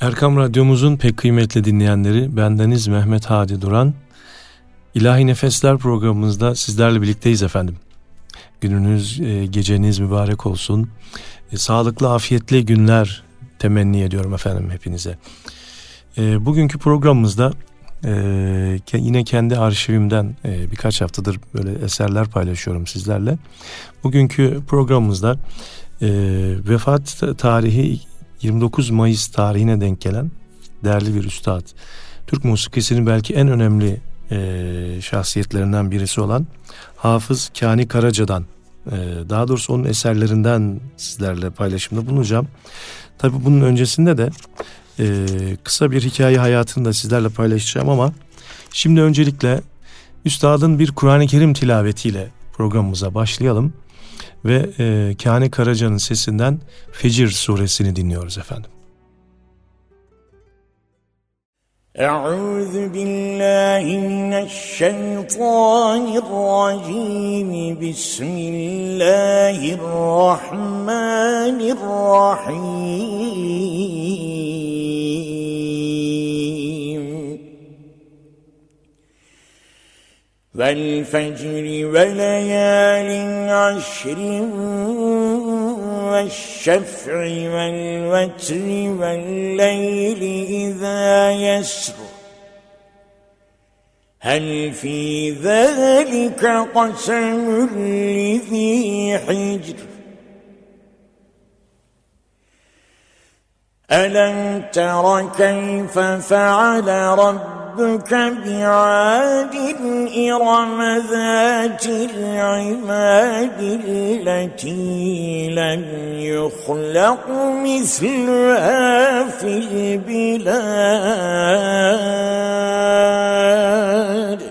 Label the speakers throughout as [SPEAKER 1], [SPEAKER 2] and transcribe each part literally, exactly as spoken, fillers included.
[SPEAKER 1] Erkam Radyomuzun pek kıymetli dinleyenleri, bendeniz Mehmet Hadi Duran. İlahi Nefesler programımızda sizlerle birlikteyiz efendim. Gününüz, e, geceniz mübarek olsun. E, sağlıklı, afiyetli günler temenni ediyorum efendim hepinize. E, bugünkü programımızda e, yine kendi arşivimden e, birkaç haftadır böyle eserler paylaşıyorum sizlerle. Bugünkü programımızda e, vefat tarihi yirmi dokuz Mayıs tarihine denk gelen değerli bir üstad, Türk musikisinin belki en önemli e, şahsiyetlerinden birisi olan Hafız Kani Karaca'dan, e, daha doğrusu onun eserlerinden sizlerle paylaşımda bulunacağım. Tabii bunun öncesinde de e, kısa bir hikaye hayatını da sizlerle paylaşacağım ama şimdi öncelikle üstadın bir Kur'an-ı Kerim tilavetiyle programımıza başlayalım. Ve e, Kani Karaca'nın sesinden Fecir suresini dinliyoruz efendim.
[SPEAKER 2] Euzu billahi mineşşeytanirracim. Bismillahirrahmanirrahim. Vel fecri ve leyalin aşrin ve şef'i vel vetri vel leyli izâ yesr. Hel fî zâlike qasemun lizî hicr. Elem tera keyfe feale rabbuke ربك بعاد إرم ذات العماد التي لم يخلق مثلها في البلاد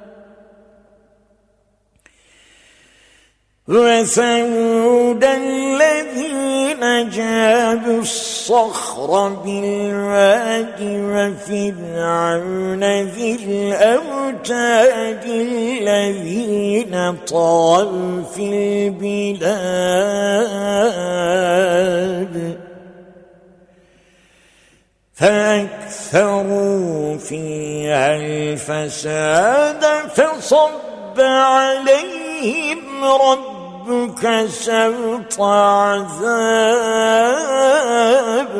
[SPEAKER 2] وثمود الذين جابوا الصخر بالواد وفرعون ذي الأوتاد الذين طغوا في البلاد فأكثروا فيها الفساد فصب عليهم ربك سوط عذاب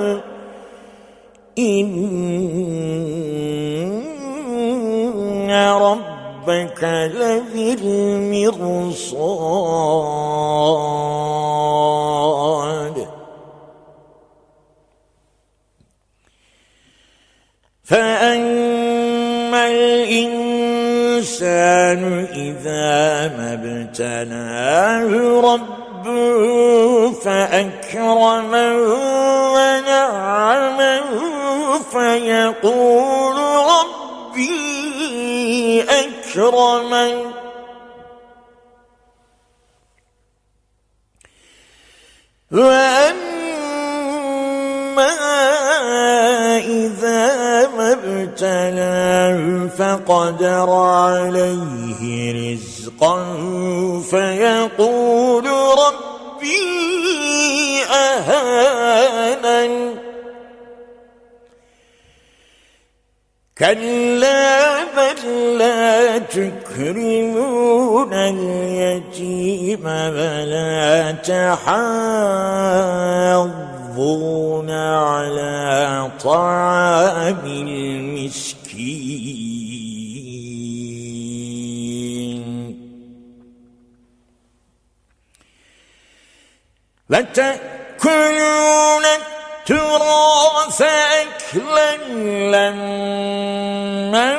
[SPEAKER 2] إن ربك لبالمرصاد فأما الإنسان إذا ما ابتلاه ربه فأكرمه ونعمه فيقول ربي أكرمن وأما إذا ما ابتلاه فقدر عليه رزقه فيقول ربي أهانن كلا بل لا تكرمون اليتيم ولا تحاضون على طعام المسكين وتأكلون التراث أكلا لما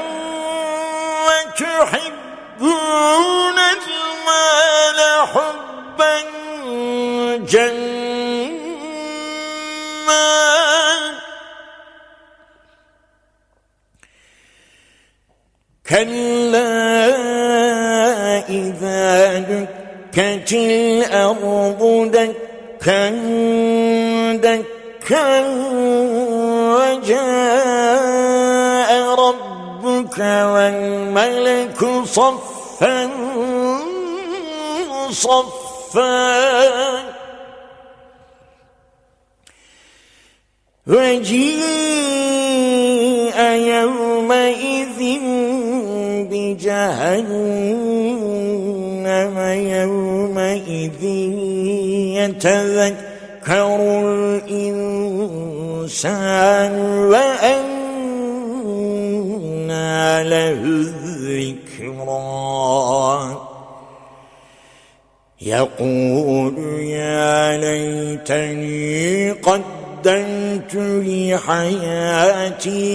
[SPEAKER 2] وتحبون المال حبا جما كلا إذا دكت الأرض دكا دكا وجاء ربك والملك صفا صفا وجيء يومئذ بجهنم يومئذ يتذكر الإنسان وأنى له الذكرى يقول يا ليتني قدمت لحياتي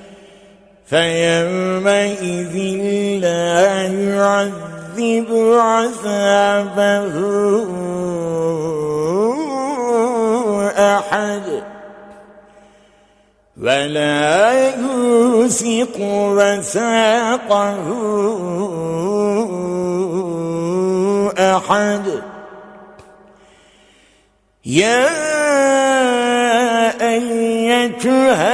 [SPEAKER 2] فيومئذ لا يعذب عذابه أحد ولا يوثق وثاقه أحد يا أيتها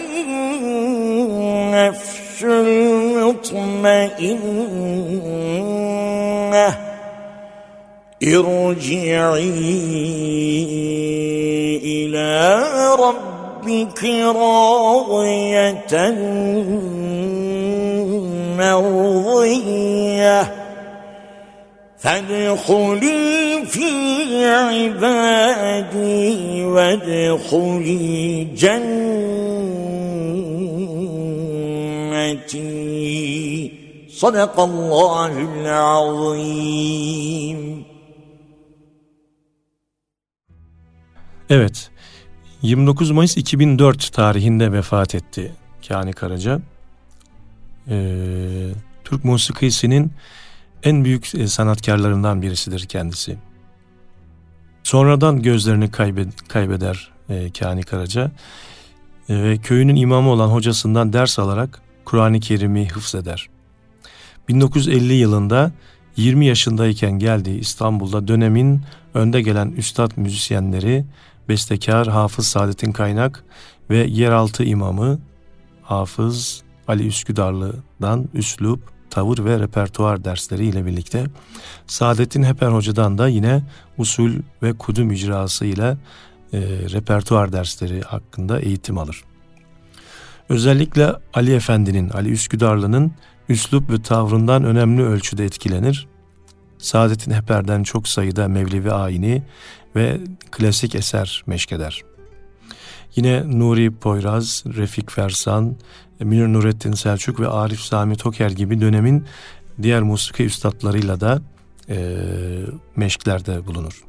[SPEAKER 2] النفس المطمئنة ارجعي إلى ربك راضية مرضية فادخلي في عبادي وادخلي جنتي صدق الله العظيم.
[SPEAKER 1] Evet, yirmi dokuz Mayıs iki bin dört tarihinde vefat etti Kani Karaca. Ee, Türk musikisinin en büyük sanatkarlarından birisidir kendisi. Sonradan gözlerini kaybed- kaybeder e, Kani Karaca e, ve köyünün imamı olan hocasından ders alarak Kur'an-ı Kerim'i hıfzeder. bin dokuz yüz elli yılında yirmi yaşındayken geldiği İstanbul'da dönemin önde gelen üstad müzisyenleri bestekar Hafız Saadettin Kaynak ve yeraltı imamı Hafız Ali Üsküdarlı'dan üslup, tavır ve repertuar dersleri ile birlikte Saadettin Heper Hoca'dan da yine usul ve kudüm icrası ile e, repertuar dersleri hakkında eğitim alır. Özellikle Ali Efendi'nin, Ali Üsküdarlı'nın üslup ve tavrından önemli ölçüde etkilenir. Saadettin Heper'den çok sayıda Mevlevi ayini ve klasik eser meşkeder. Yine Nuri Poyraz, Refik Fersan, Münir Nurettin Selçuk ve Arif Sami Toker gibi dönemin diğer musiki üstadlarıyla da e, meşklerde bulunur.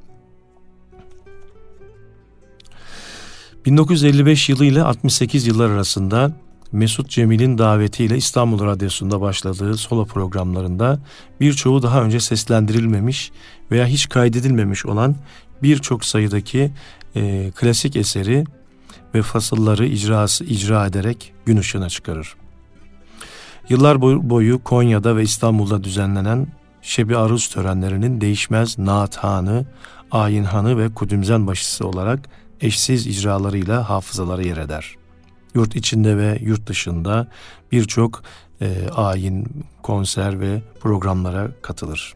[SPEAKER 1] bin dokuz yüz elli beş yılı ile altmış sekiz yıllar arasında Mesut Cemil'in davetiyle İstanbul Radyosu'nda başladığı solo programlarında birçoğu daha önce seslendirilmemiş veya hiç kaydedilmemiş olan birçok sayıdaki e, klasik eseri ve fasılları icrası icra ederek gün ışığına çıkarır. Yıllar boyu Konya'da ve İstanbul'da düzenlenen Şebi Aruz törenlerinin değişmez Naathanı, Ayinhanı ve Kudümzen başısı olarak eşsiz icralarıyla hafızalara yer eder. Yurt içinde ve yurt dışında birçok e, ayin, konser ve programlara katılır.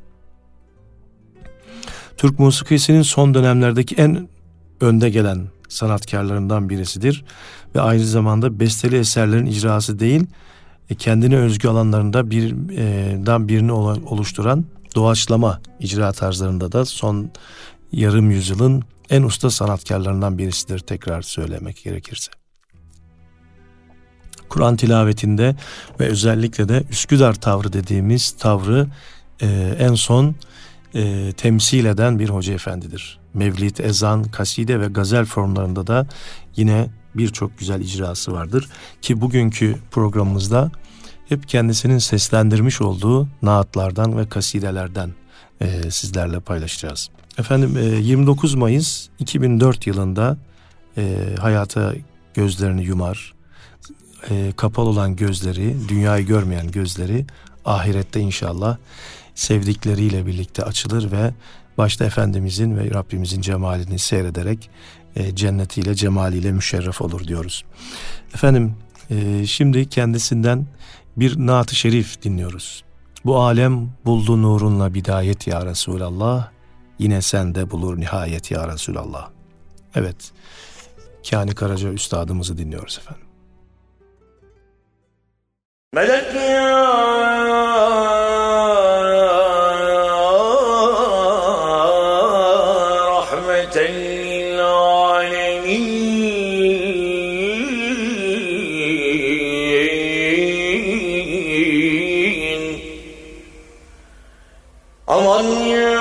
[SPEAKER 1] Türk musikisinin son dönemlerdeki en önde gelen sanatkarlarından birisidir ve aynı zamanda besteli eserlerin icrası değil, kendine özgü alanlarında birden birini oluşturan doğaçlama icra tarzlarında da son yarım yüzyılın en usta sanatkarlarından birisidir, tekrar söylemek gerekirse. Kur'an tilavetinde ve özellikle de Üsküdar tavrı dediğimiz tavrı e, en son e, temsil eden bir hoca efendidir. Mevlid, ezan, kaside ve gazel formlarında da yine birçok güzel icrası vardır. Ki bugünkü programımızda hep kendisinin seslendirmiş olduğu naatlardan ve kasidelerden e, sizlerle paylaşacağız. Efendim e, yirmi dokuz Mayıs iki bin dört yılında e, hayata gözlerini yumar. E, kapalı olan gözleri, dünyayı görmeyen gözleri ahirette inşallah sevdikleriyle birlikte açılır ve başta Efendimizin ve Rabbimizin cemalini seyrederek e, cennetiyle, cemaliyle müşerref olur diyoruz. Efendim e, şimdi kendisinden bir naat-ı şerif dinliyoruz. Bu alem buldu nurunla bidayet ya Resulallah, yine sende bulur nihayet ya Resulallah. Evet, Kani Karaca Üstadımızı dinliyoruz efendim.
[SPEAKER 2] Melek ya rahmeten lil alemin. Aman ya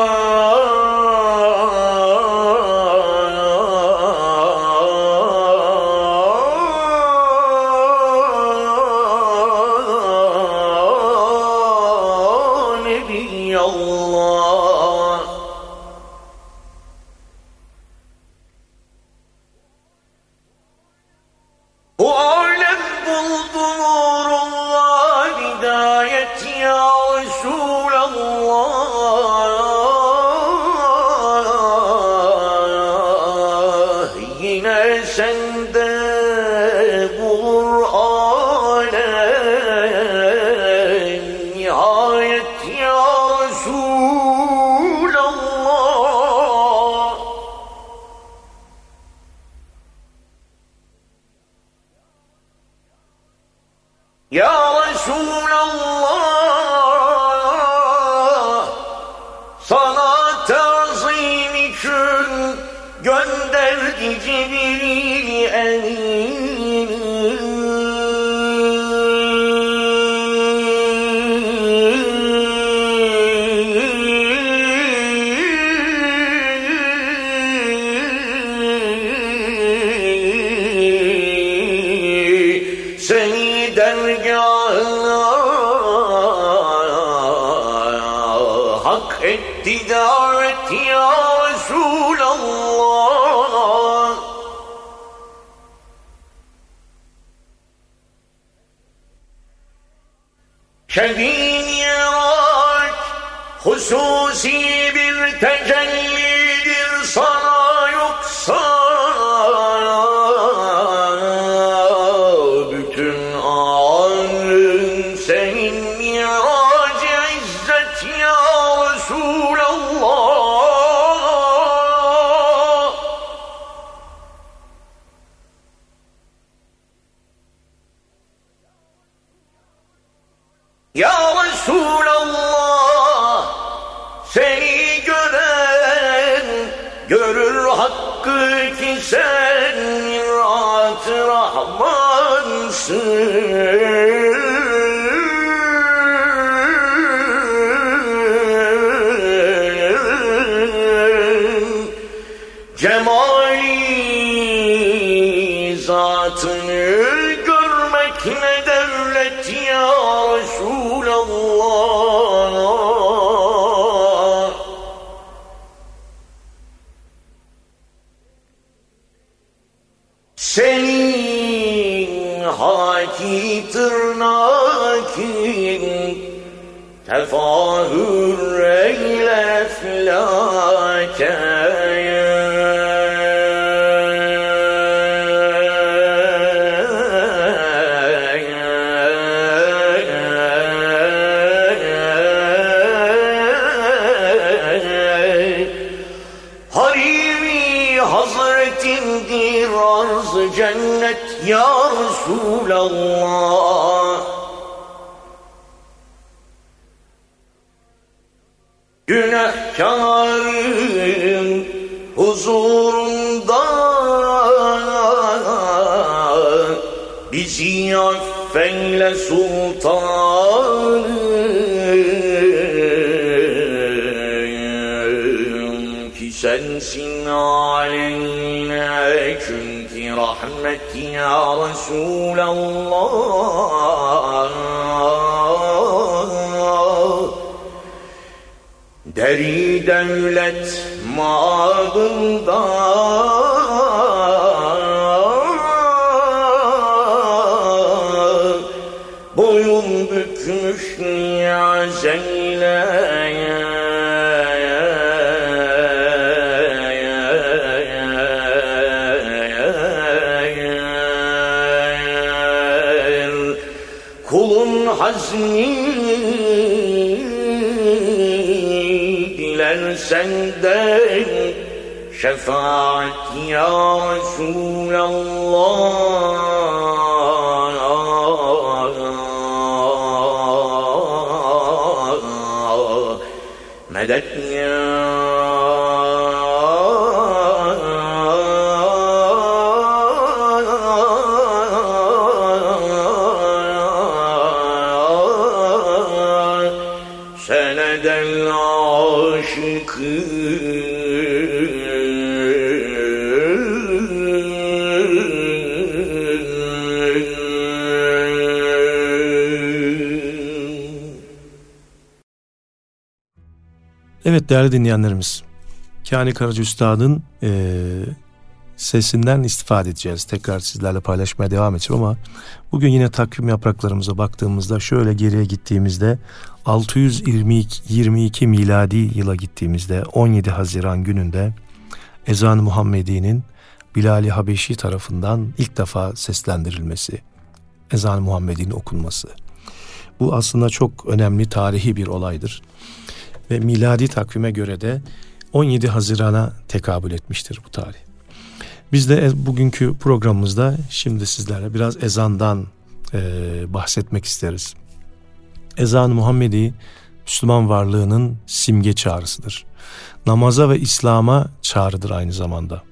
[SPEAKER 2] Şebiyat hususi bir tecellidir sana, yoksa bütün alem senin miracı izzet ya Resulallah. Ya Resulallah, seni gören görür hakkı ki sen mirat-ı Rahmansın. Cemali zatını görmek ne devlet ya Resulallah. Senin haki tırnakin tefahür eyle eflâke. Cennet ya Resulallah. Günahkarın huzurunda bizi affeyle sultanım, ki sensin aleyhine çünkü rahmet ya Resulallah. Deri devlet mağdında boyun bükmüş niyaz eyle. Kulun hazni diler senden şefaat ya Resulallah. Medet ya senedel aşıkı.
[SPEAKER 1] Evet değerli dinleyenlerimiz, Kani Karaca Üstad'ın e, sesinden istifade edeceğiz. Tekrar sizlerle paylaşmaya devam edeceğim ama bugün yine takvim yapraklarımıza baktığımızda şöyle geriye gittiğimizde altı yüz yirmi iki miladi yıla gittiğimizde on yedi Haziran gününde ezan-ı Muhammedi'nin Bilal-i Habeşi tarafından ilk defa seslendirilmesi, ezan-ı Muhammedi'nin okunması. Bu aslında çok önemli tarihi bir olaydır. Ve miladi takvime göre de on yedi Haziran'a tekabül etmiştir bu tarih. Biz de bugünkü programımızda şimdi sizlerle biraz ezandan e, bahsetmek isteriz. Ezan-ı Muhammedi Müslüman varlığının simge çağrısıdır. Namaza ve İslam'a çağrıdır aynı zamanda.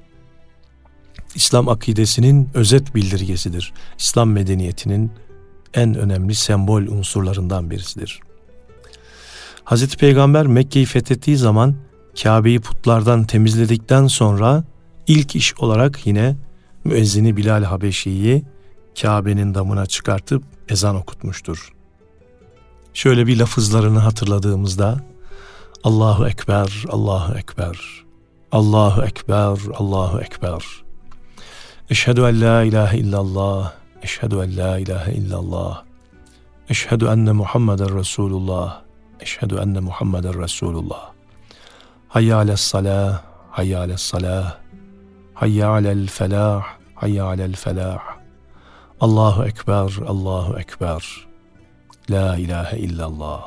[SPEAKER 1] İslam akidesinin özet bildirgesidir. İslam medeniyetinin en önemli sembol unsurlarından birisidir. Hazreti Peygamber Mekke'yi fethettiği zaman Kabe'yi putlardan temizledikten sonra ilk iş olarak yine müezzini Bilal Habeşi'yi Kabe'nin damına çıkartıp ezan okutmuştur. Şöyle bir lafızlarını hatırladığımızda Allahu Ekber, Allahu Ekber, Allahu Ekber, Allahu Ekber. Eşhedü en la ilahe illallah, eşhedü en la ilahe illallah, eşhedü enne Muhammeden Resulullah, eşhedü enne Muhammeden Resulullah. Hayya alessalah, hayya alessalah, hayya alel felah, hayya alel felah. Allahu Ekber, Allahu Ekber. La ilahe illallah.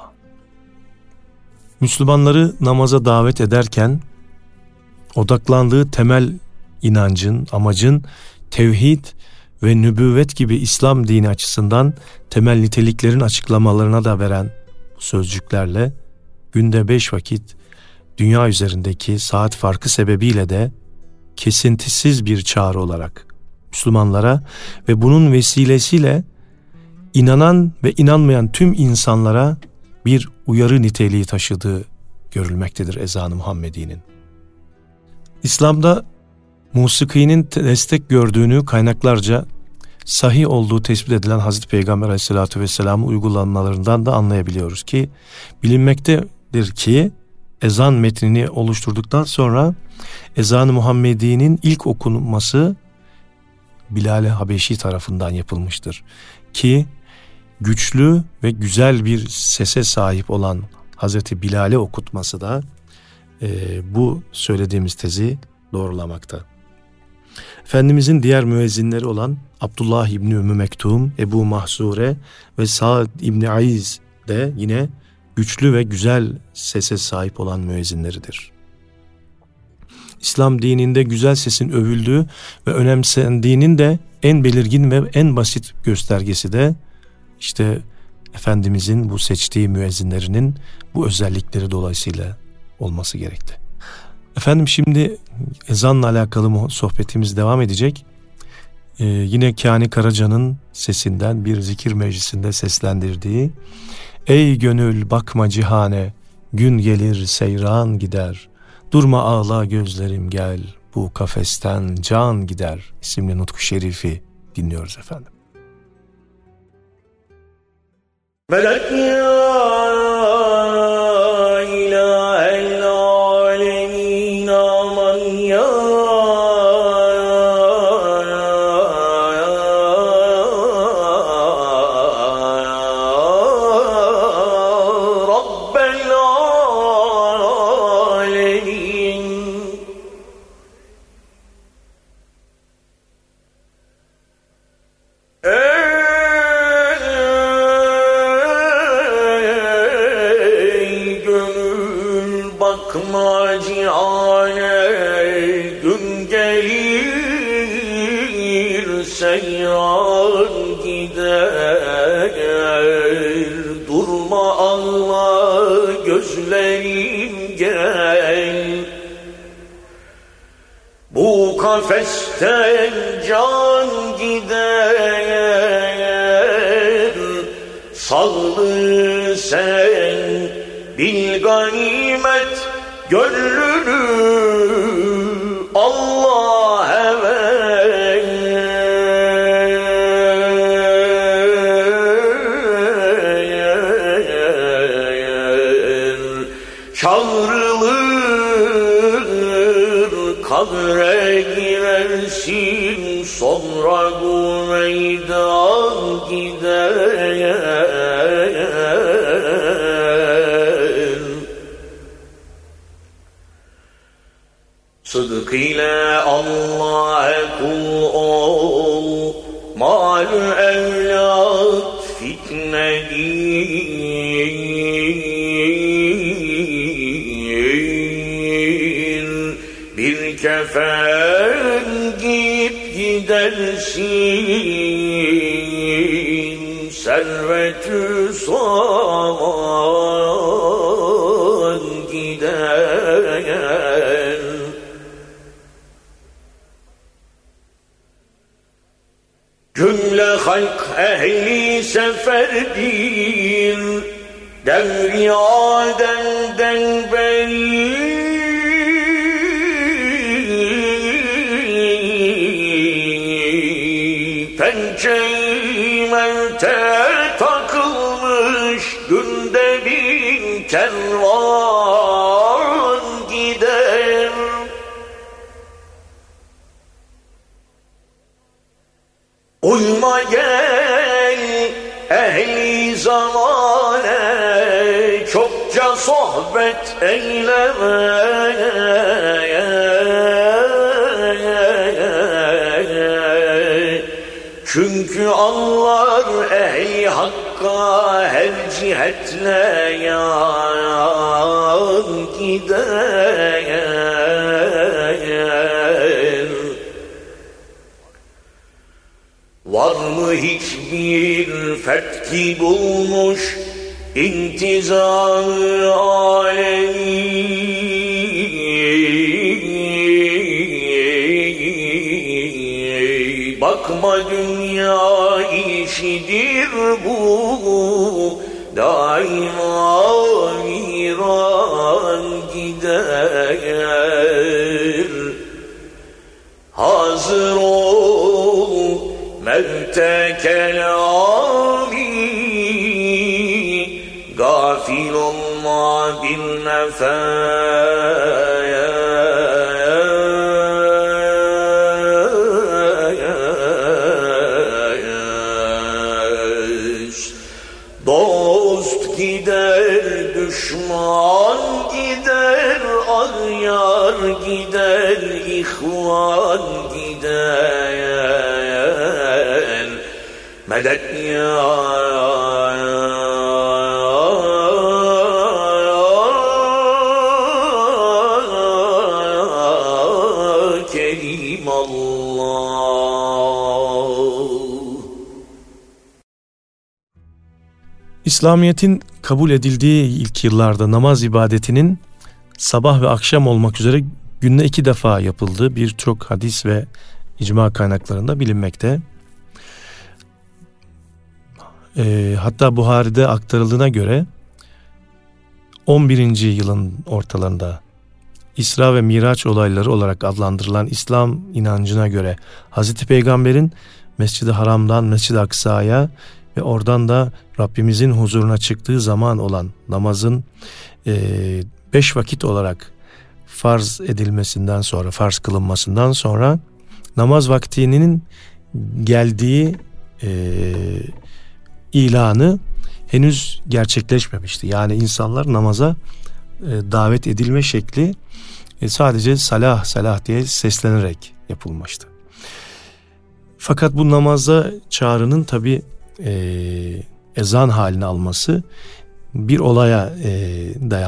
[SPEAKER 1] Müslümanları namaza davet ederken odaklandığı temel inancın, amacın tevhid ve nübüvvet gibi İslam dini açısından temel niteliklerin açıklamalarına da veren bu sözcüklerle günde beş vakit dünya üzerindeki saat farkı sebebiyle de kesintisiz bir çağrı olarak Müslümanlara ve bunun vesilesiyle inanan ve inanmayan tüm insanlara bir uyarı niteliği taşıdığı görülmektedir ezan-ı Muhammedi'nin. İslam'da musikinin destek gördüğünü kaynaklarca sahih olduğu tespit edilen Hazreti Peygamber Aleyhisselatü Vesselam'ın uygulamalarından da anlayabiliyoruz ki bilinmektedir ki ezan metnini oluşturduktan sonra ezan-ı Muhammedi'nin ilk okunması Bilal-i Habeşi tarafından yapılmıştır. Ki güçlü ve güzel bir sese sahip olan Hazreti Bilal'e okutması da e, bu söylediğimiz tezi doğrulamakta. Efendimizin diğer müezzinleri olan Abdullah İbni Ümmü Mektum, Ebu Mahzure ve Sa'd İbni Aiz de yine güçlü ve güzel sese sahip olan müezzinleridir. İslam dininde güzel sesin övüldüğü ve önemsendiğinin de en belirgin ve en basit göstergesi de işte Efendimizin bu seçtiği müezzinlerinin bu özellikleri dolayısıyla olması gerekti. Efendim şimdi ezanla alakalı sohbetimiz devam edecek. Ee, yine Kani Karaca'nın sesinden bir zikir meclisinde seslendirdiği Ey gönül bakma cihane, gün gelir seyran gider, durma ağla gözlerim gel, bu kafesten can gider isimli nutku şerifi dinliyoruz efendim.
[SPEAKER 2] Melek ya ilahel alemin aman ya Rabbel alemin. Bakma cihane, seyran gider. Durma Allah gözlerim gel. Bu kafesten can gider. Sallı sen bil ganimet gönlünü Allah'a ver. Çağrılır kabre girersin, sonra bu meydan gider. Sıdk ile Allah'a kul ol, mal evlat fitnedir. Bir kefen giyip gidersin, servet-ü saman gider. Cümle halk ehli seferdir, devri Adem'den beri. Pençe-i mevte takılmış, günde bin kervan gider. Uyma gel ehli zamane, çokça sohbet eyleme. Çünkü anlar ehli hakka her cihetle yan gider. Var mı hiçbir fetki bulmuş intizam-ı alemi? Bakma dünya işidir bu, daima viran gider. Hazır ol mevte kelami, gafil olma bir nefes. Dost gider, düşman gider, aryar gider, ihvan gider. Medet ya Kerim Allah.
[SPEAKER 1] İslamiyet'in kabul edildiği ilk yıllarda namaz ibadetinin sabah ve akşam olmak üzere günde iki defa yapıldığı birçok hadis ve icma kaynaklarında bilinmekte. E, hatta Buhari'de aktarıldığına göre on birinci yılın ortalarında İsra ve Miraç olayları olarak adlandırılan İslam inancına göre Hazreti Peygamber'in Mescid-i Haram'dan Mescid-i Aksa'ya ve oradan da Rabbimizin huzuruna çıktığı zaman olan namazın e, beş vakit olarak farz edilmesinden sonra, farz kılınmasından sonra namaz vaktinin geldiği e, ilanı henüz gerçekleşmemişti. Yani insanlar namaza e, davet edilme şekli e, sadece salah salah diye seslenerek yapılmıştı. Fakat bu namaza çağrının tabi e, ezan halini alması bir olaya e,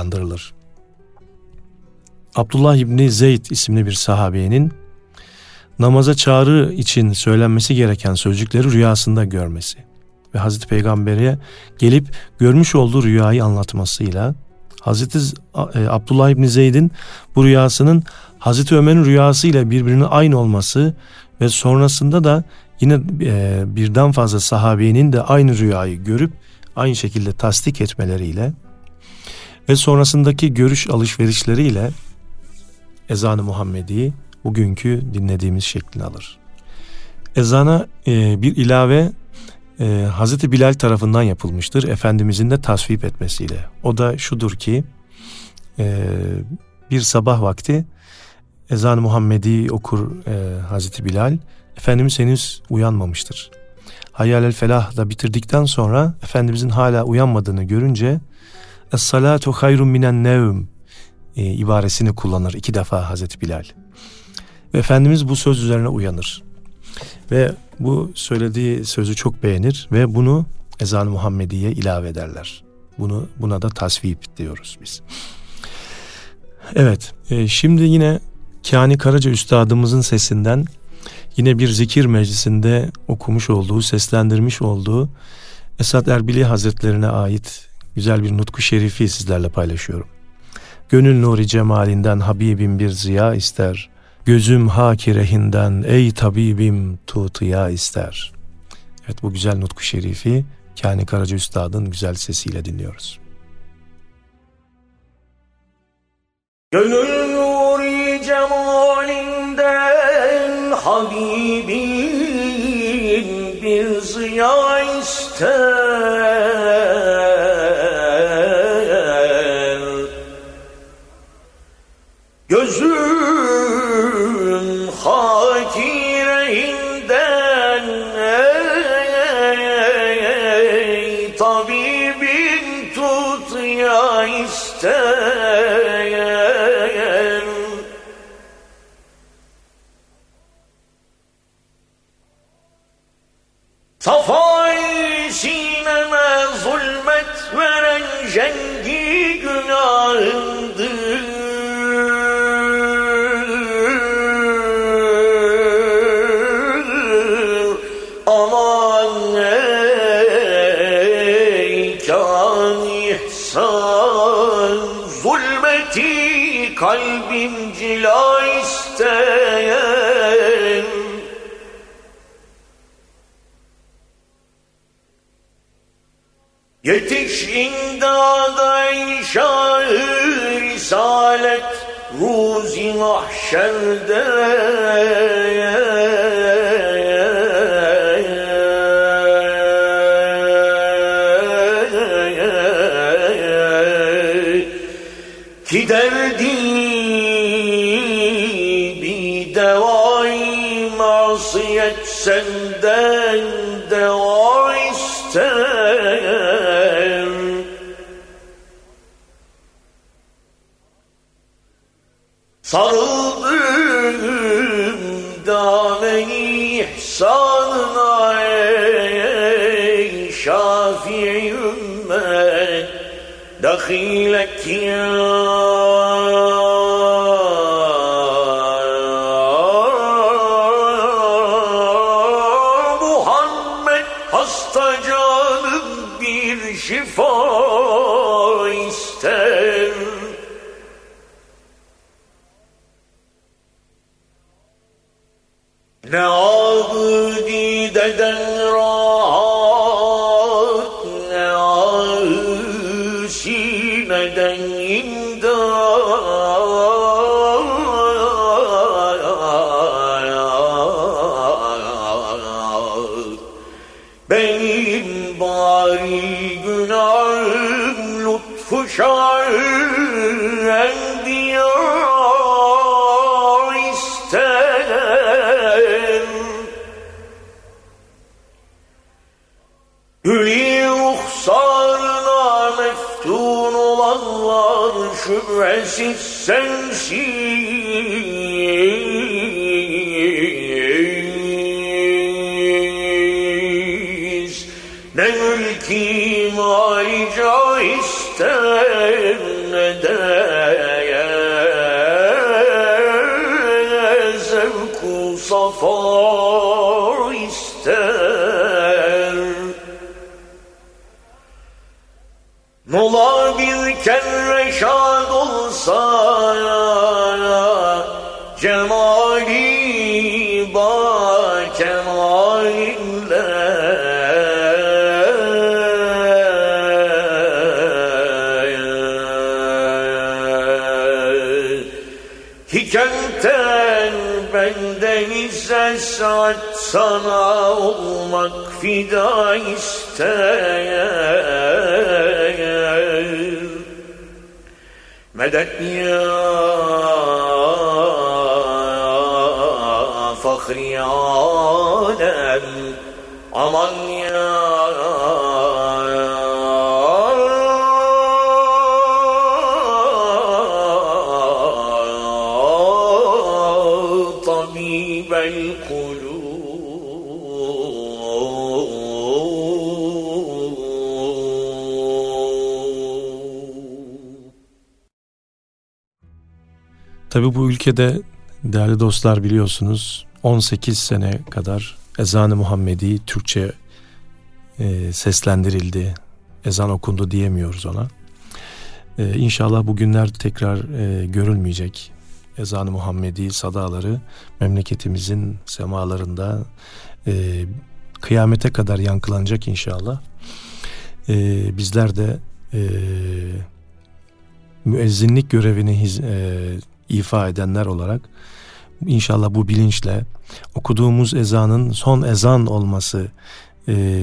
[SPEAKER 1] dayandırılır. Abdullah İbni Zeyd isimli bir sahabenin namaza çağrı için söylenmesi gereken sözcükleri rüyasında görmesi ve Hazreti Peygamber'e gelip görmüş olduğu rüyayı anlatmasıyla Hazreti Abdullah İbni Zeyd'in bu rüyasının Hazreti Ömer'in rüyasıyla birbirine aynı olması ve sonrasında da yine birden fazla sahabenin de aynı rüyayı görüp aynı şekilde tasdik etmeleriyle ve sonrasındaki görüş alışverişleriyle ezan-ı Muhammedi bugünkü dinlediğimiz şeklini alır. Ezana e, bir ilave e, Hazreti Bilal tarafından yapılmıştır. Efendimizin de tasvip etmesiyle. O da şudur ki e, bir sabah vakti ezan-ı Muhammedi okur e, Hazreti Bilal. Efendimiz henüz uyanmamıştır. Hayyâlel felah da bitirdikten sonra Efendimizin hala uyanmadığını görünce Es-salatu hayrun minen nevm e, ibaresini kullanır iki defa Hazreti Bilal. Ve Efendimiz bu söz üzerine uyanır. Ve bu söylediği sözü çok beğenir ve bunu ezan-ı Muhammediye ilave ederler. Bunu buna da tasvip diyoruz biz. Evet, e, şimdi yine Kani Karaca Üstadımızın sesinden yine bir zikir meclisinde okumuş olduğu, seslendirmiş olduğu Esad Erbili Hazretlerine ait güzel bir nutku şerifi sizlerle paylaşıyorum. Gönül nuri cemalinden Habibim bir ziya ister. Gözüm haki rehinden ey tabibim tutuya ister. Evet, bu güzel nutku şerifi Kani Karaca Üstad'ın güzel sesiyle dinliyoruz.
[SPEAKER 2] Gönül nuri cemalinden Habibim bir ziya ister. Gözüm hakirehinden ey tabibin tut ya ister. Safay sineme zulmet veren cengi günahındır. Kalbim cila isteyen yetiş imdada inşa-ı risalet ruzi mahşerde. Ki derdi bir devai masiyet senden deva ister. Sarıldım dâme-i ihsanına ey Şafii ümmet. دخيلك يا Muhammed, hasta canım bir şifa ister. Ne abideden rahat, ne ahı sineden imdad. Benim bari günahım lütfu şah-ı enbiya ister. Hülî ruhsarına meftun olanlar şüphesiz sensiz. Ne mülki mali cah ister, ne de zevku saf ister. Nola bir kere şad olsa cemali ba kemalinle. Hikemten benden ise saat sana olmak fida ister. Medet ya fahri alem, aman ya
[SPEAKER 1] Tabii bu ülkede değerli dostlar biliyorsunuz on sekiz sene kadar ezan-ı Muhammedi Türkçe e, seslendirildi. Ezan okundu diyemiyoruz ona. E, İnşallah bu günler tekrar e, görülmeyecek. Ezan-ı Muhammedi sadaları memleketimizin semalarında e, kıyamete kadar yankılanacak inşallah. E, bizler de e, müezzinlik görevini hiz, e, ifa edenler olarak İnşallah bu bilinçle okuduğumuz ezanın son ezan olması e,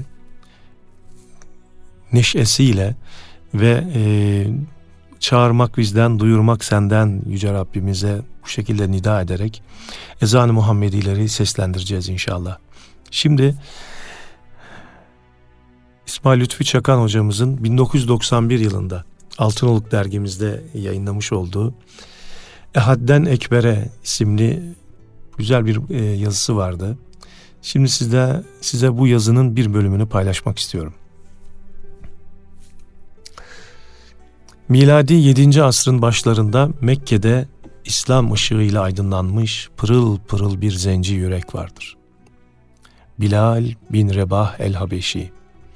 [SPEAKER 1] neşesiyle ve e, çağırmak bizden, duyurmak senden Yüce Rabbimize bu şekilde nida ederek ezan-ı Muhammedileri seslendireceğiz inşallah. Şimdi İsmail Lütfi Çakan hocamızın bin dokuz yüz doksan bir yılında Altınoluk dergimizde yayınlamış olduğu Ehad'den Ekber'e isimli güzel bir e, yazısı vardı. Şimdi size, size bu yazının bir bölümünü paylaşmak istiyorum. Miladi yedinci asrın başlarında Mekke'de İslam ışığıyla aydınlanmış pırıl pırıl bir zenci yürek vardır. Bilal bin Rebah el-Habeşi.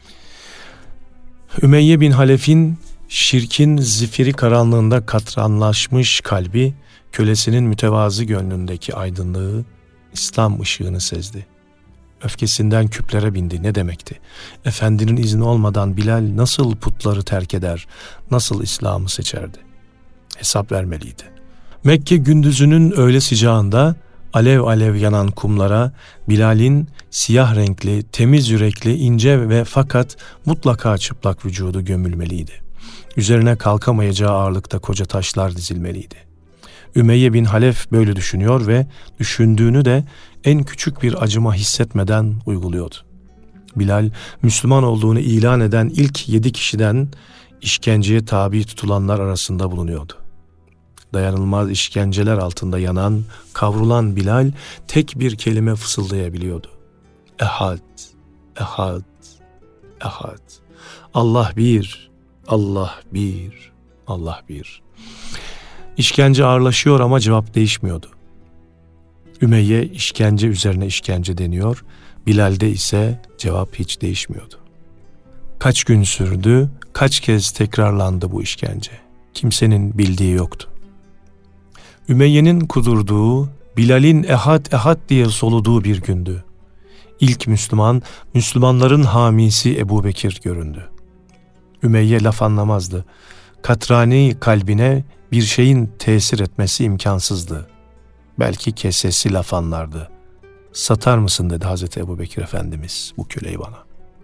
[SPEAKER 1] Ümeyye bin Halef'in şirkin zifiri karanlığında katranlaşmış kalbi, kölesinin mütevazı gönlündeki aydınlığı, İslam ışığını sezdi. Öfkesinden küplere bindi. Ne demekti? Efendinin izni olmadan Bilal nasıl putları terk eder, nasıl İslam'ı seçerdi? Hesap vermeliydi. Mekke gündüzünün öğle sıcağında alev alev yanan kumlara Bilal'in siyah renkli, temiz yürekli, ince ve fakat mutlaka çıplak vücudu gömülmeliydi. Üzerine kalkamayacağı ağırlıkta koca taşlar dizilmeliydi. Ümeyye bin Halef böyle düşünüyor ve düşündüğünü de en küçük bir acıma hissetmeden uyguluyordu. Bilal, Müslüman olduğunu ilan eden ilk yedi kişiden işkenceye tabi tutulanlar arasında bulunuyordu. Dayanılmaz işkenceler altında yanan, kavrulan Bilal tek bir kelime fısıldayabiliyordu. Ehad, ehad, ehad. Allah bir, Allah bir, Allah bir. İşkence ağırlaşıyor ama cevap değişmiyordu. Ümeyye işkence üzerine işkence deniyor, Bilal'de ise cevap hiç değişmiyordu. Kaç gün sürdü, kaç kez tekrarlandı bu işkence. Kimsenin bildiği yoktu. Ümeyye'nin kudurduğu, Bilal'in ehad ehad diye soluduğu bir gündü. İlk Müslüman, Müslümanların hamisi Ebu Bekir göründü. Ümeyye laf anlamazdı. Katrani kalbine bir şeyin tesir etmesi imkansızdı. Belki kesesi laf anlardı. Satar mısın dedi Hazreti Ebu Bekir Efendimiz bu köleyi bana.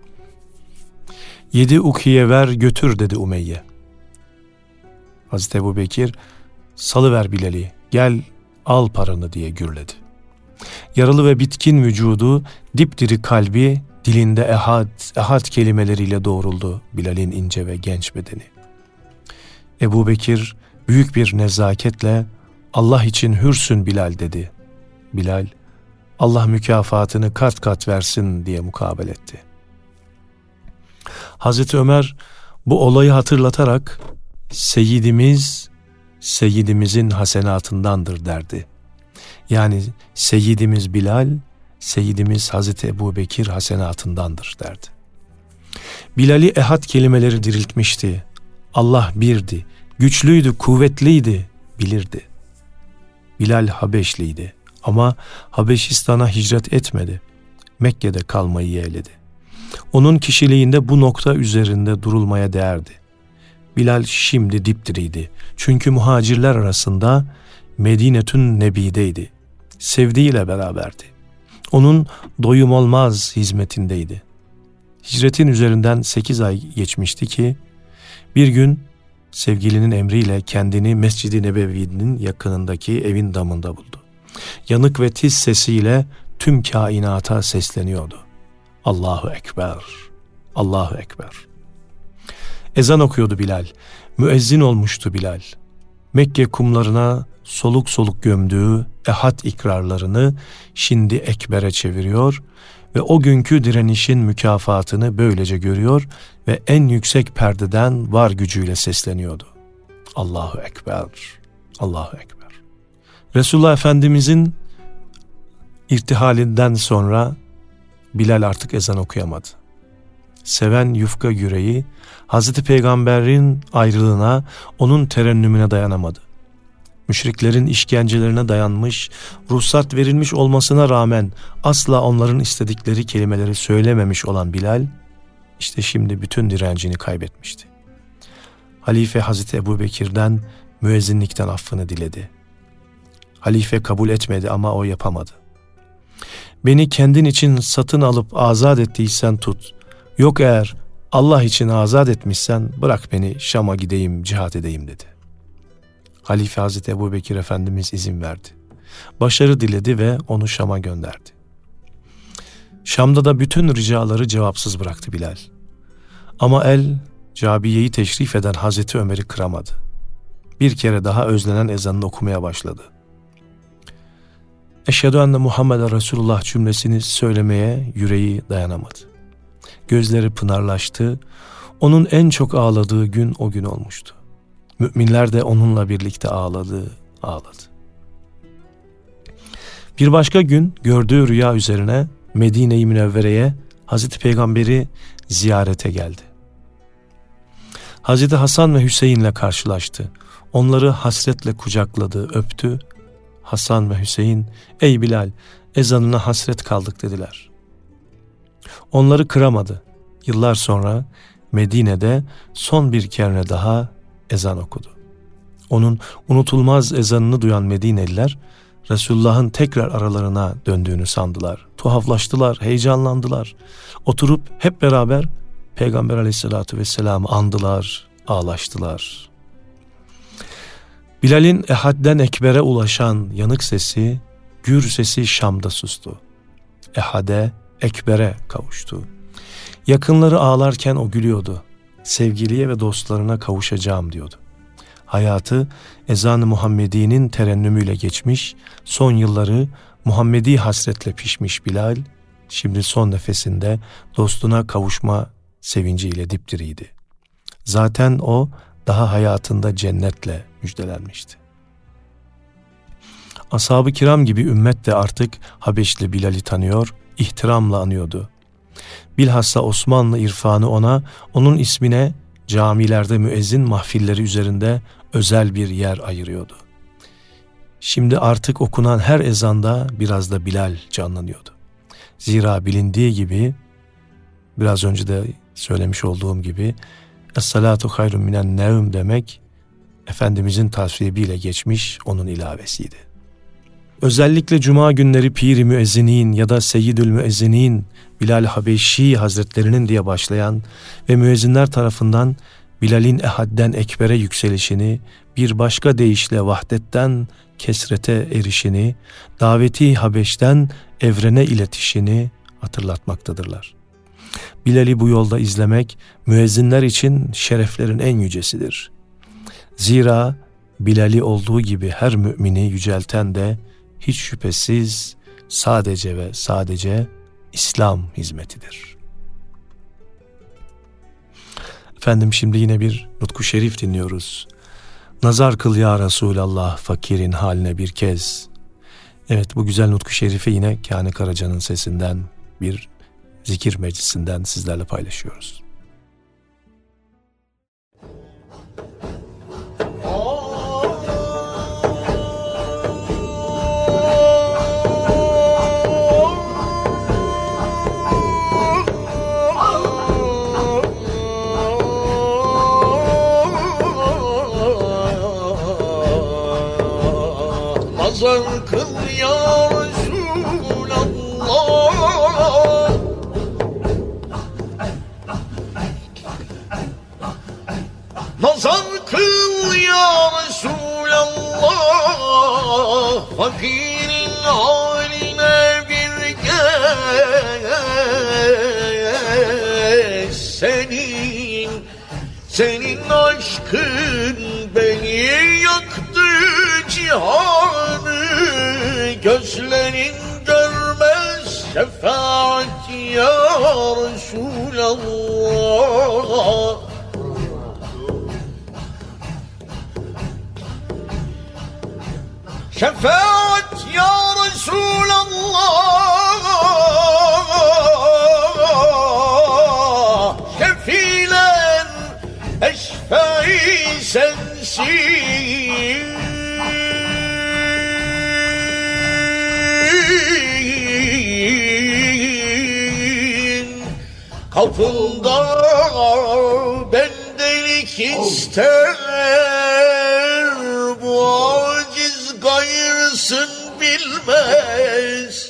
[SPEAKER 1] Yedi ukiye ver götür dedi Ümeyye. Hazreti Ebu Bekir salıver Bilal'i, gel al paranı diye gürledi. Yaralı ve bitkin vücudu, dipdiri kalbi dilinde ehad, ehad kelimeleriyle doğruldu Bilal'in ince ve genç bedeni. Ebu Bekir büyük bir nezaketle Allah için hürsün Bilal dedi. Bilal, Allah mükafatını kat kat versin diye mukabele etti. Hazreti Ömer bu olayı hatırlatarak Seyyidimiz, Seyyidimizin hasenatındandır derdi. Yani Seyyidimiz Bilal, Seyyidimiz Hazreti Ebubekir hasenatındandır derdi. Bilal'i ehad kelimeleri diriltmişti. Allah birdi, güçlüydü, kuvvetliydi, bilirdi. Bilal Habeşliydi ama Habeşistan'a hicret etmedi. Mekke'de kalmayı yeğledi. Onun kişiliğinde bu nokta üzerinde durulmaya değerdi. Bilal şimdi dipdiriydi. Çünkü muhacirler arasında Medinetün Nebi'deydi. Sevdiğiyle beraberdi. Onun doyum olmaz hizmetindeydi. Hicretin üzerinden sekiz ay geçmişti ki bir gün sevgilinin emriyle kendini Mescid-i Nebevi'nin yakınındaki evin damında buldu. Yanık ve tiz sesiyle tüm kainata sesleniyordu. Allahu Ekber, Allahu Ekber. Ezan okuyordu Bilal. Müezzin olmuştu Bilal. Mekke kumlarına soluk soluk gömdüğü ehad ikrarlarını şimdi ekbere çeviriyor ve o günkü direnişin mükafatını böylece görüyor ve en yüksek perdeden var gücüyle sesleniyordu. Allahu Ekber, Allahu Ekber. Resulullah Efendimizin irtihalinden sonra Bilal artık ezan okuyamadı. Seven yufka yüreği Hazreti Peygamber'in ayrılığına, onun terennümüne dayanamadı. Müşriklerin işkencelerine dayanmış, ruhsat verilmiş olmasına rağmen asla onların istedikleri kelimeleri söylememiş olan Bilal, işte şimdi bütün direncini kaybetmişti. Halife Hazreti Ebubekir'den müezzinlikten affını diledi. Halife kabul etmedi ama o yapamadı. Beni kendin için satın alıp azat ettiysen tut. Yok eğer Allah için azat etmişsen bırak beni Şam'a gideyim, cihat edeyim dedi. Halife Hazreti Ebubekir Efendimiz izin verdi. Başarı diledi ve onu Şam'a gönderdi. Şam'da da bütün ricaları cevapsız bıraktı Bilal. Ama el Cabiye'yi teşrif eden Hazreti Ömer'i kıramadı. Bir kere daha özlenen ezanını okumaya başladı. Eşhedü enne Muhammeden Resulullah cümlesini söylemeye yüreği dayanamadı. Gözleri pınarlaştı. Onun en çok ağladığı gün o gün olmuştu. Müminler de onunla birlikte ağladı, ağladı. Bir başka gün gördüğü rüya üzerine Medine-i Münevvere'ye Hazreti Peygamber'i ziyarete geldi. Hazreti Hasan ve Hüseyin'le karşılaştı. Onları hasretle kucakladı, öptü. Hasan ve Hüseyin, ey Bilal, ezanına hasret kaldık dediler. Onları kıramadı. Yıllar sonra Medine'de son bir kere daha ezan okudu. Onun unutulmaz ezanını duyan Medineliler, Resulullah'ın tekrar aralarına döndüğünü sandılar. Tuhaflaştılar, heyecanlandılar. Oturup hep beraber Peygamber Aleyhisselatü Vesselam'ı andılar, ağlaştılar. Bilal'in ehadden ekbere ulaşan yanık sesi, gür sesi Şam'da sustu. Ehade, ekbere kavuştu. Yakınları ağlarken o gülüyordu. Sevgiliye ve dostlarına kavuşacağım diyordu. Hayatı ezan-ı Muhammedi'nin terennümüyle geçmiş, son yılları Muhammedi hasretle pişmiş Bilal, şimdi son nefesinde dostuna kavuşma sevinciyle dipdiriydi. Zaten o daha hayatında cennetle müjdelenmişti. Ashab-ı kiram gibi ümmet de artık Habeşli Bilal'i tanıyor, ihtiramla anıyordu. Bilhassa Osmanlı irfanı ona, onun ismine camilerde müezzin mahfilleri üzerinde özel bir yer ayırıyordu. Şimdi artık okunan her ezanda biraz da Bilal canlanıyordu. Zira bilindiği gibi, biraz önce de söylemiş olduğum gibi, Es-salatu hayrun minen nevm demek, Efendimizin tasvibiyle geçmiş onun ilavesiydi. Özellikle cuma günleri Pir-i Müezzinin ya da Seyyidül Müezzinin Bilal Habeşi Hazretlerinin diye başlayan ve müezzinler tarafından Bilal'in ehadden ekbere yükselişini, bir başka deyişle vahdetten kesrete erişini, daveti Habeş'ten evrene iletişini hatırlatmaktadırlar. Bilal'i bu yolda izlemek müezzinler için şereflerin en yücesidir. Zira Bilal'i olduğu gibi her mümini yücelten de hiç şüphesiz sadece ve sadece İslam hizmetidir. Efendim şimdi yine bir nutku şerif dinliyoruz. Nazar kıl ya Resulallah fakirin haline bir kez. Evet, bu güzel nutku şerifi yine Kani Karaca'nın sesinden, bir zikir meclisinden sizlerle paylaşıyoruz.
[SPEAKER 2] Nazar kıl ya Resulallah, nazar kıl ya Resulallah, fakirin haline bir gez. Senin, senin aşkın beni yaktı cihanı, gözlerin görmez şefaat ya Resulallah. Şefaat ya Resulallah, şefilen eşfai sensin. Kapında bendelik ister, bu aciz gayrısın bilmez.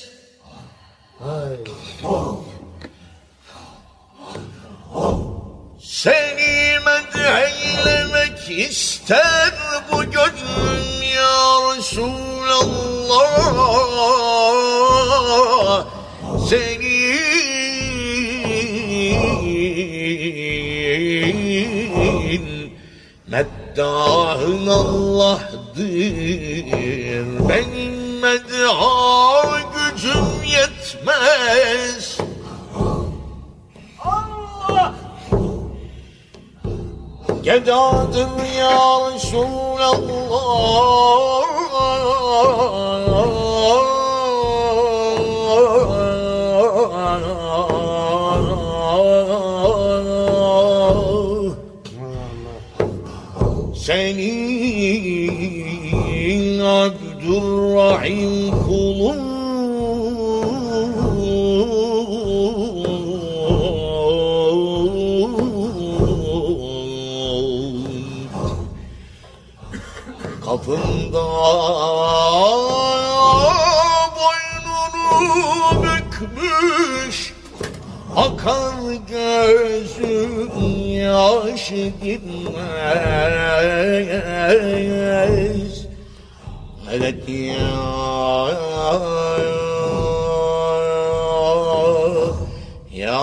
[SPEAKER 2] Seni medheylemek ister bu gönlüm ya Resulallah. Senin meddahın Allah'dır, benim medha gücüm yetmez. Allah gedadır ya Resulallah, senin Abdurrahim kulun, kapında boynunu bükmüş, akar gözün yaşı gitmez. Medet ya ya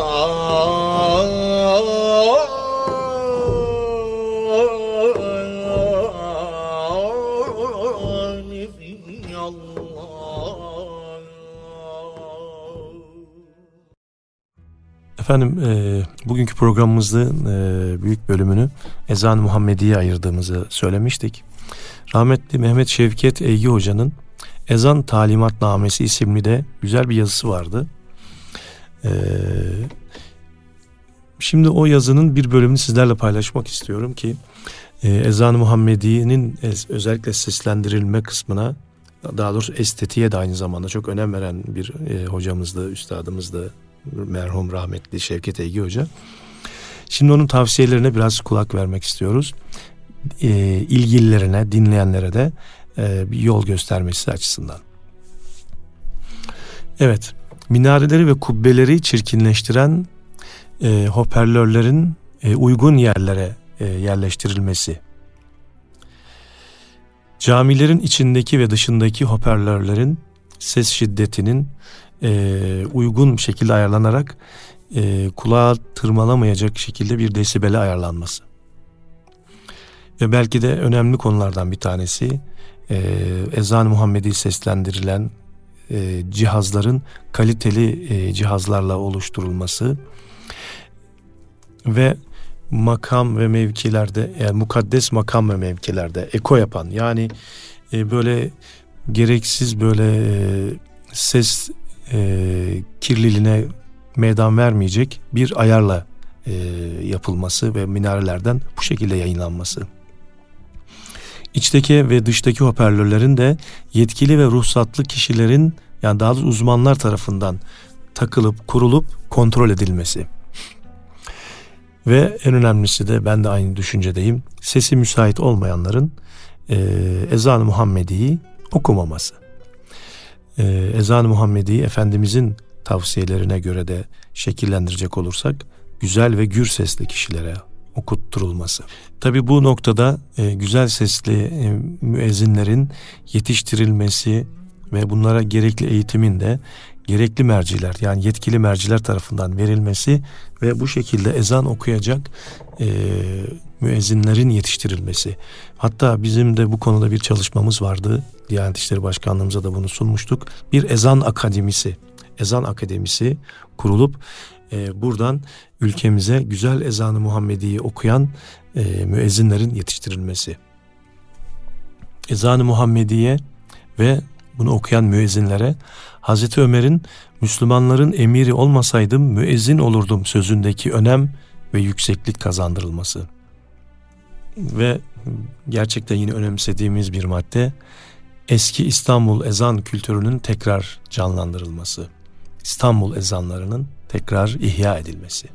[SPEAKER 1] Efendim e, bugünkü programımızın e, büyük bölümünü Ezan-ı Muhammedi'ye ayırdığımızı söylemiştik. Rahmetli Mehmet Şevket Eygi Hoca'nın Ezan Talimatnamesi isimli de güzel bir yazısı vardı. E, şimdi o yazının bir bölümünü sizlerle paylaşmak istiyorum ki e, Ezan-ı Muhammedi'nin özellikle seslendirilme kısmına, daha doğrusu estetiğe de aynı zamanda çok önem veren bir e, hocamızdı, üstadımızdı. Merhum rahmetli Şevket Eygi Hoca. Şimdi onun tavsiyelerine biraz kulak vermek istiyoruz. E, ilgililerine, dinleyenlere de e, bir yol göstermesi açısından. Evet, minareleri ve kubbeleri çirkinleştiren e, hoparlörlerin e, uygun yerlere e, yerleştirilmesi. Camilerin içindeki ve dışındaki hoparlörlerin ses şiddetinin e, uygun bir şekilde ayarlanarak e, kulağa tırmalamayacak şekilde bir desibele ayarlanması. Ve belki de önemli konulardan bir tanesi e, Ezan-ı Muhammedi seslendirilen e, cihazların kaliteli e, cihazlarla oluşturulması ve makam ve mevkilerde, yani mukaddes makam ve mevkilerde eko yapan, yani e, böyle gereksiz böyle e, ses e, kirliliğine meydan vermeyecek bir ayarla e, yapılması ve minarelerden bu şekilde yayınlanması. İçteki ve dıştaki hoparlörlerin de yetkili ve ruhsatlı kişilerin, yani daha doğrusu uzmanlar tarafından takılıp kurulup kontrol edilmesi. Ve en önemlisi de, ben de aynı düşüncedeyim, sesi müsait olmayanların e, ezan-ı Muhammedi'yi okumaması. E, ezan-ı Muhammedi'yi Efendimizin tavsiyelerine göre de şekillendirecek olursak güzel ve gür sesli kişilere okutturulması. Tabii bu noktada e, güzel sesli e, müezzinlerin yetiştirilmesi ve bunlara gerekli eğitimin de gerekli merciler, yani yetkili merciler tarafından verilmesi ve bu şekilde ezan okuyacak e, müezzinlerin yetiştirilmesi. Hatta bizim de bu konuda bir çalışmamız vardı. Diyanet İşleri Başkanlığımıza da bunu sunmuştuk. Bir ezan akademisi, ezan akademisi kurulup e, buradan ülkemize güzel ezan-ı Muhammedi'yi okuyan e, müezzinlerin yetiştirilmesi. Ezan-ı Muhammediye ve bunu okuyan müezzinlere Hazreti Ömer'in Müslümanların emiri olmasaydım müezzin olurdum sözündeki önem ve yükseklik kazandırılması. Ve gerçekten yine önemsediğimiz bir madde, eski İstanbul ezan kültürünün tekrar canlandırılması. İstanbul ezanlarının tekrar ihya edilmesi.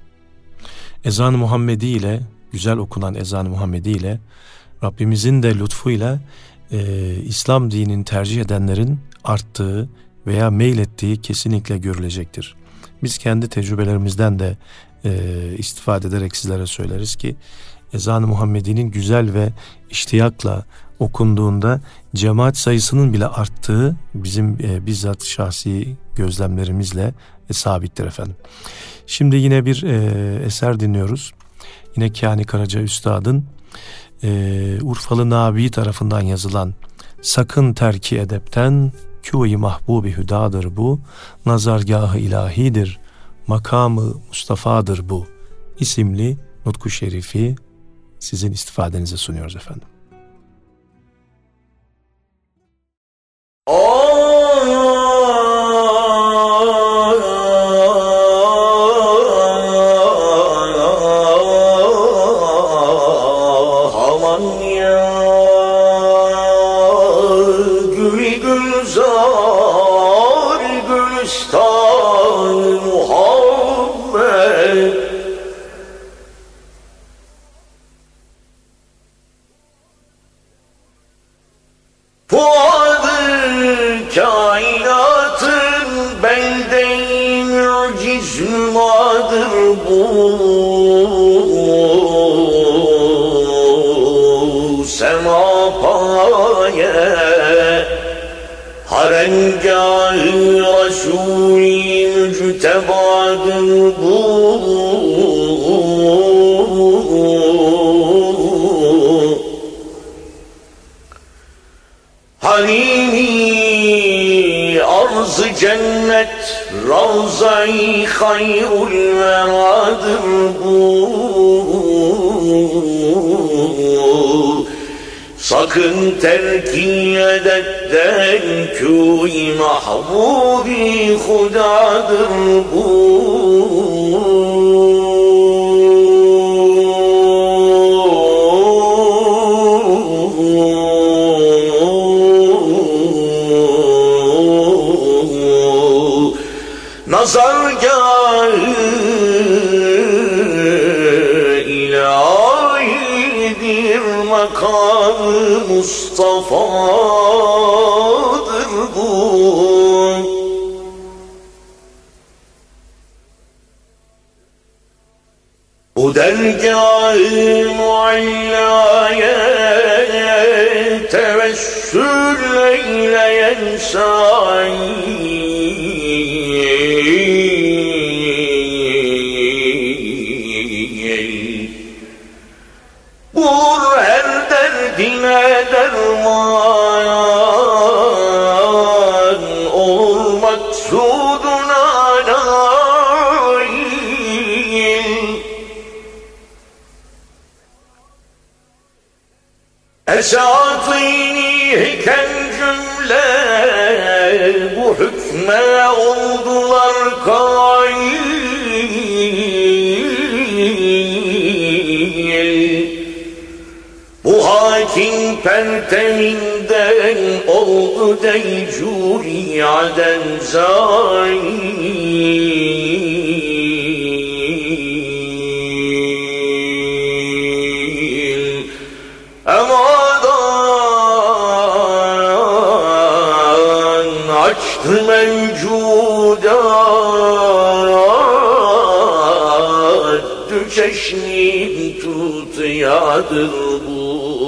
[SPEAKER 1] Ezan-ı Muhammedi ile, güzel okunan ezan-ı Muhammedi ile Rabbimizin de lütfuyla e, İslam dinini tercih edenlerin arttığı veya meylettiği kesinlikle görülecektir. Biz kendi tecrübelerimizden de e, istifade ederek sizlere söyleriz ki ezan-ı Muhammedi'nin güzel ve iştiyakla okunduğunda cemaat sayısının bile arttığı bizim e, bizzat şahsi gözlemlerimizle e, sabittir efendim. Şimdi yine bir e, eser dinliyoruz. Yine Kâni Karaca Üstad'ın e, Urfalı Nabi tarafından yazılan "Sakın terki edepten, kû-i mahbûb-i hüdadır bu, nazargâh-ı ilahidir, makamı Mustafa'dır bu" isimli nutku şerifi sizin istifadenize sunuyoruz efendim.
[SPEAKER 2] Harengâh-ı Rasûl-i müctebadır bu, Halîl-i arz-ı cennet Ravza-i hayrul veradır bu. Sakın terki edetten kû-i mahbûb-i hudadır bu. Nazargâh-ı ilahidir, makamı Mustafa'dır bu. Bu dergâh-ı muallâye tevessül eyleyen sâi, bul her derdine derman, ol maksuduna nail. Esat-ı nihiken cümle perteminden oldu deycuri aden zail. Emadan açtı mevcudat, düşeşnin tutayadır bu.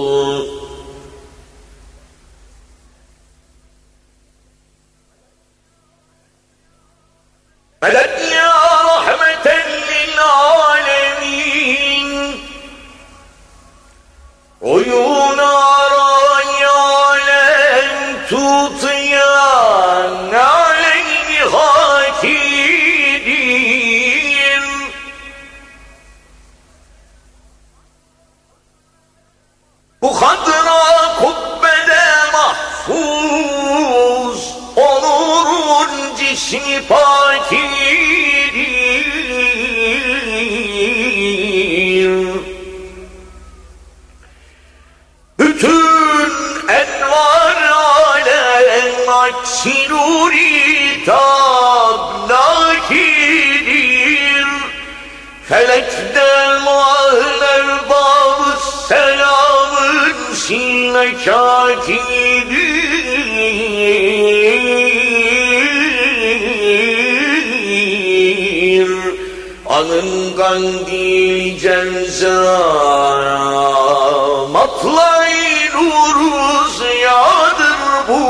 [SPEAKER 2] Medet ya rahmeten lil alemin, oyun aray alem tutayan aleyhi hakidir. Bu hadra kubbede mahfuz onurun cismi pakidir. Bütün envar alem aksi nuri tablakidir. Felekten muahler babı selamın sine kakidir. Anın kandil cenzara matlay nuru ziyadır bu.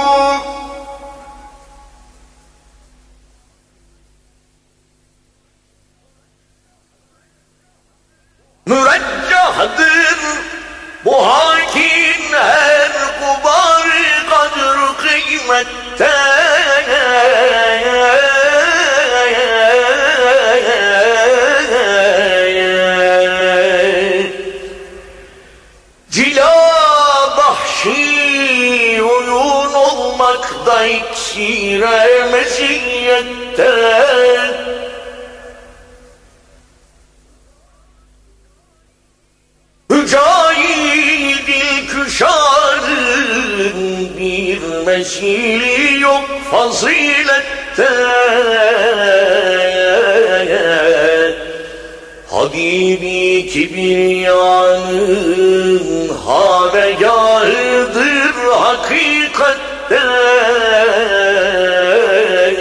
[SPEAKER 2] Müreccahtır bu hakin her kubar kadr kıymetten. Cila bahşi oyun olmakta iksire meziyetten. Mücahid ilküşarın bir mesili yok faziletten. Habibi kibriyanın havegâhıdır hakikatten.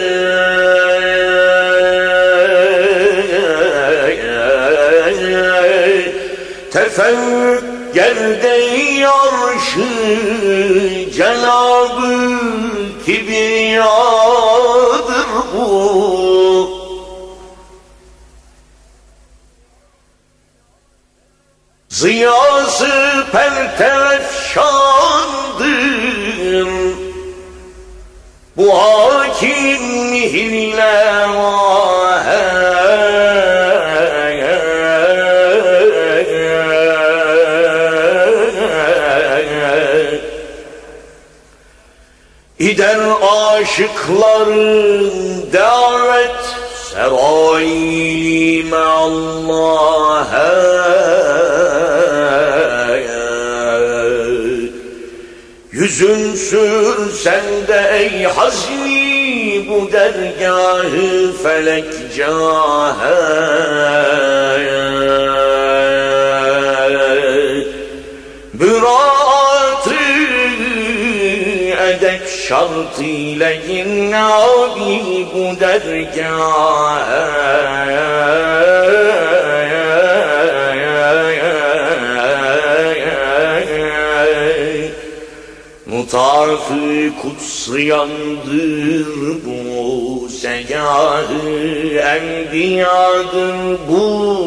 [SPEAKER 2] Tefekkür gerde arşı Cenab-ı Kibriyadır bu. Ziyası pertefşandır bu hakim mihrile vahe. İder aşıkların davet serayli me'allâhe. Yüzün sürsen de ey hazmi bu dergâh-ı felek câhe. Büraat-ı edep şartıyla gir abi bu dergâhe. Mutaf-ı kutsiyandır bu, segâh-ı enbiyadır bu.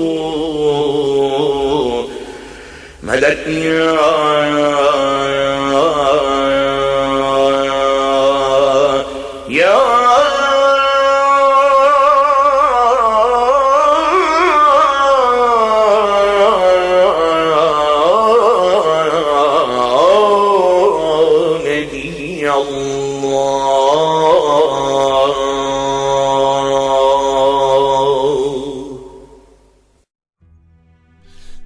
[SPEAKER 2] Medet ya ya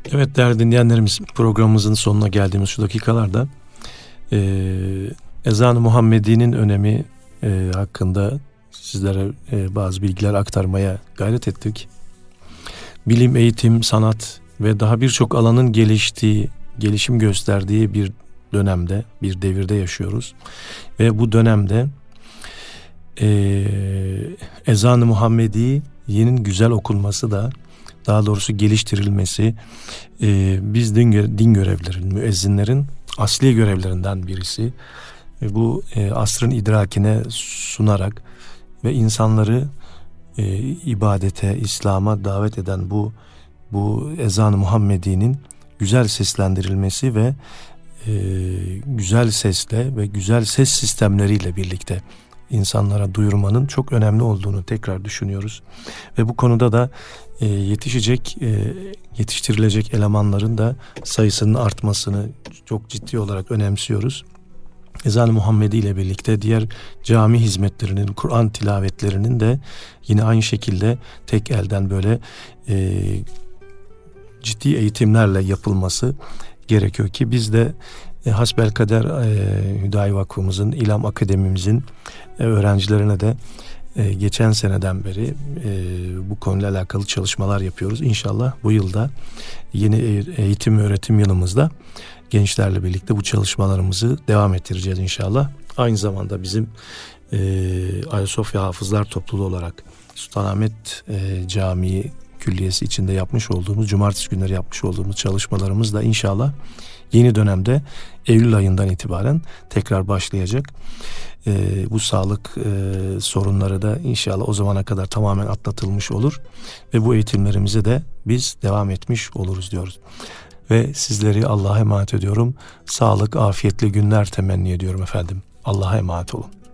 [SPEAKER 1] Evet değerli dinleyenlerimiz, programımızın sonuna geldiğimiz şu dakikalarda e, ezan-ı Muhammedi'nin önemi e, hakkında sizlere e, bazı bilgiler aktarmaya gayret ettik. Bilim, eğitim, sanat ve daha birçok alanın geliştiği, gelişim gösterdiği bir dönemde, bir devirde yaşıyoruz. Ve bu dönemde e, ezan-ı Muhammedi'nin güzel okunması da, daha doğrusu geliştirilmesi e, biz din, din görevlilerin, müezzinlerin asli görevlerinden birisi. E, bu e, asrın idrakine sunarak ve insanları e, ibadete, İslam'a davet eden bu bu ezan-ı Muhammedi'nin güzel seslendirilmesi ve e, güzel sesle ve güzel ses sistemleriyle birlikte insanlara duyurmanın çok önemli olduğunu tekrar düşünüyoruz. Ve bu konuda da e, yetişecek, e, yetiştirilecek elemanların da sayısının artmasını çok ciddi olarak önemsiyoruz. Ezan-ı Muhammedi ile birlikte diğer cami hizmetlerinin, Kur'an tilavetlerinin de yine aynı şekilde tek elden böyle e, ciddi eğitimlerle yapılması gerekiyor ki biz de e, hasbelkader e, Hüdayi Vakfımızın, İlam Akademimizin e, öğrencilerine de e, geçen seneden beri e, bu konuyla alakalı çalışmalar yapıyoruz. İnşallah bu yılda yeni eğitim öğretim yılımızda gençlerle birlikte bu çalışmalarımızı devam ettireceğiz inşallah. Aynı zamanda bizim e, Ayasofya Hafızlar Topluluğu olarak Sultanahmet e, Camii Külliyesi içinde yapmış olduğumuz, cumartesi günleri yapmış olduğumuz çalışmalarımız da inşallah yeni dönemde Eylül ayından itibaren tekrar başlayacak. E, bu sağlık e, sorunları da inşallah o zamana kadar tamamen atlatılmış olur ve bu eğitimlerimize de biz devam etmiş oluruz diyoruz. Ve sizleri Allah'a emanet ediyorum. Sağlık, afiyetli günler temenni ediyorum efendim. Allah'a emanet olun.